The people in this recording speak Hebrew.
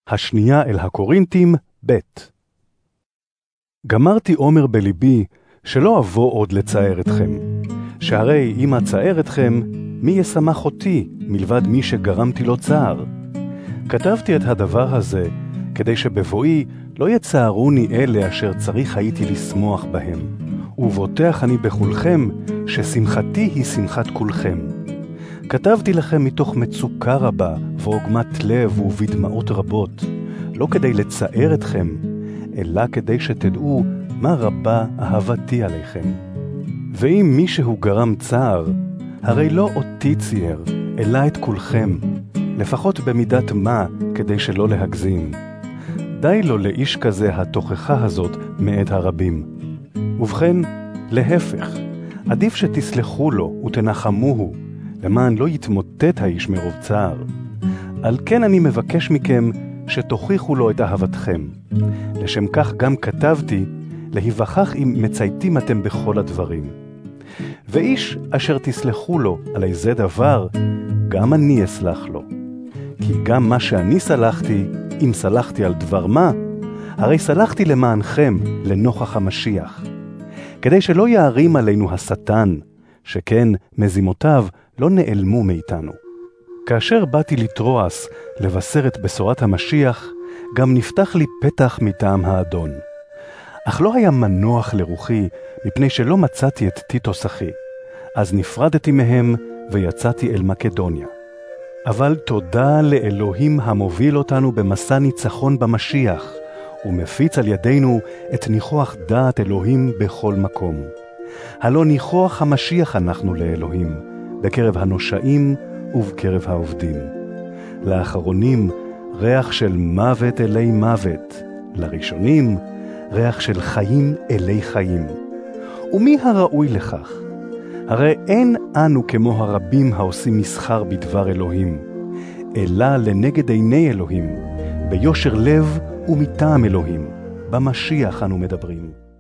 השנייה אל הקורינתים, ב'. גמרתי אומר בליבי שלא אבוא עוד לצער אתכם, שהרי אם אצער אתכם, מי ישמח אותי מלבד מי שגרמתי לו צער? כתבתי את הדבר הזה כדי שבבואי לא יצערוני אלה אשר צריך הייתי לשמוח בהם, ובוטח אני בכולכם ששמחתי היא שמחת כולכם. כתבתי לכם מתוך מצוקה רבה ועוגמת לב ובדמעות רבות, לא כדי לצער אתכם, אלא כדי שתדעו מה רבה אהבתי עליכם. ואם מישהו גרם צער, הרי לא אותי צייר, אלא את כולכם, לפחות במידת מה כדי שלא להגזים. די לו לאיש כזה התוכחה הזאת מאת הרבים. ובכן, להפך, עדיף שתסלחו לו ותנחמוהו, למען לא יתמוטט האיש מרוב צער. על כן אני מבקש מכם שתוכיחו לו את אהבתכם. לשם כך גם כתבתי, להיווכח אם מצייתים אתם בכל הדברים. ואיש אשר תסלחו לו על איזה דבר, גם אני אסלח לו. כי גם מה שאני סלחתי, אם סלחתי על דבר מה, הרי סלחתי למענכם לנוכח המשיח. כדי שלא יערים עלינו השטן, שכן מזימותיו לא נעלמו מאיתנו. כאשר באתי לטרואס לבשר את בשורת המשיח, גם נפתח לי פתח מטעם האדון. אך לא היה מנוח לרוחי, מפני שלא מצאתי את טיטוס אחי. אז נפרדתי מהם ויצאתי אל מקדוניה. אבל תודה לאלוהים המוביל אותנו במסע ניצחון במשיח, ומפיץ על ידינו את ניחוח דעת אלוהים בכל מקום. הלא ניחוח המשיח אנחנו לאלוהים, בקרב הנושאים ובקרב העובדים. לאחרונים ריח של מוות אלי מוות, לראשונים ריח של חיים אלי חיים. ומי הראוי לכך? הרי אין אנו כמו הרבים העושים מסחר בדבר אלוהים, אלא לנגד עיני אלוהים, ביושר לב ומטעם אלוהים, במשיח אנו מדברים.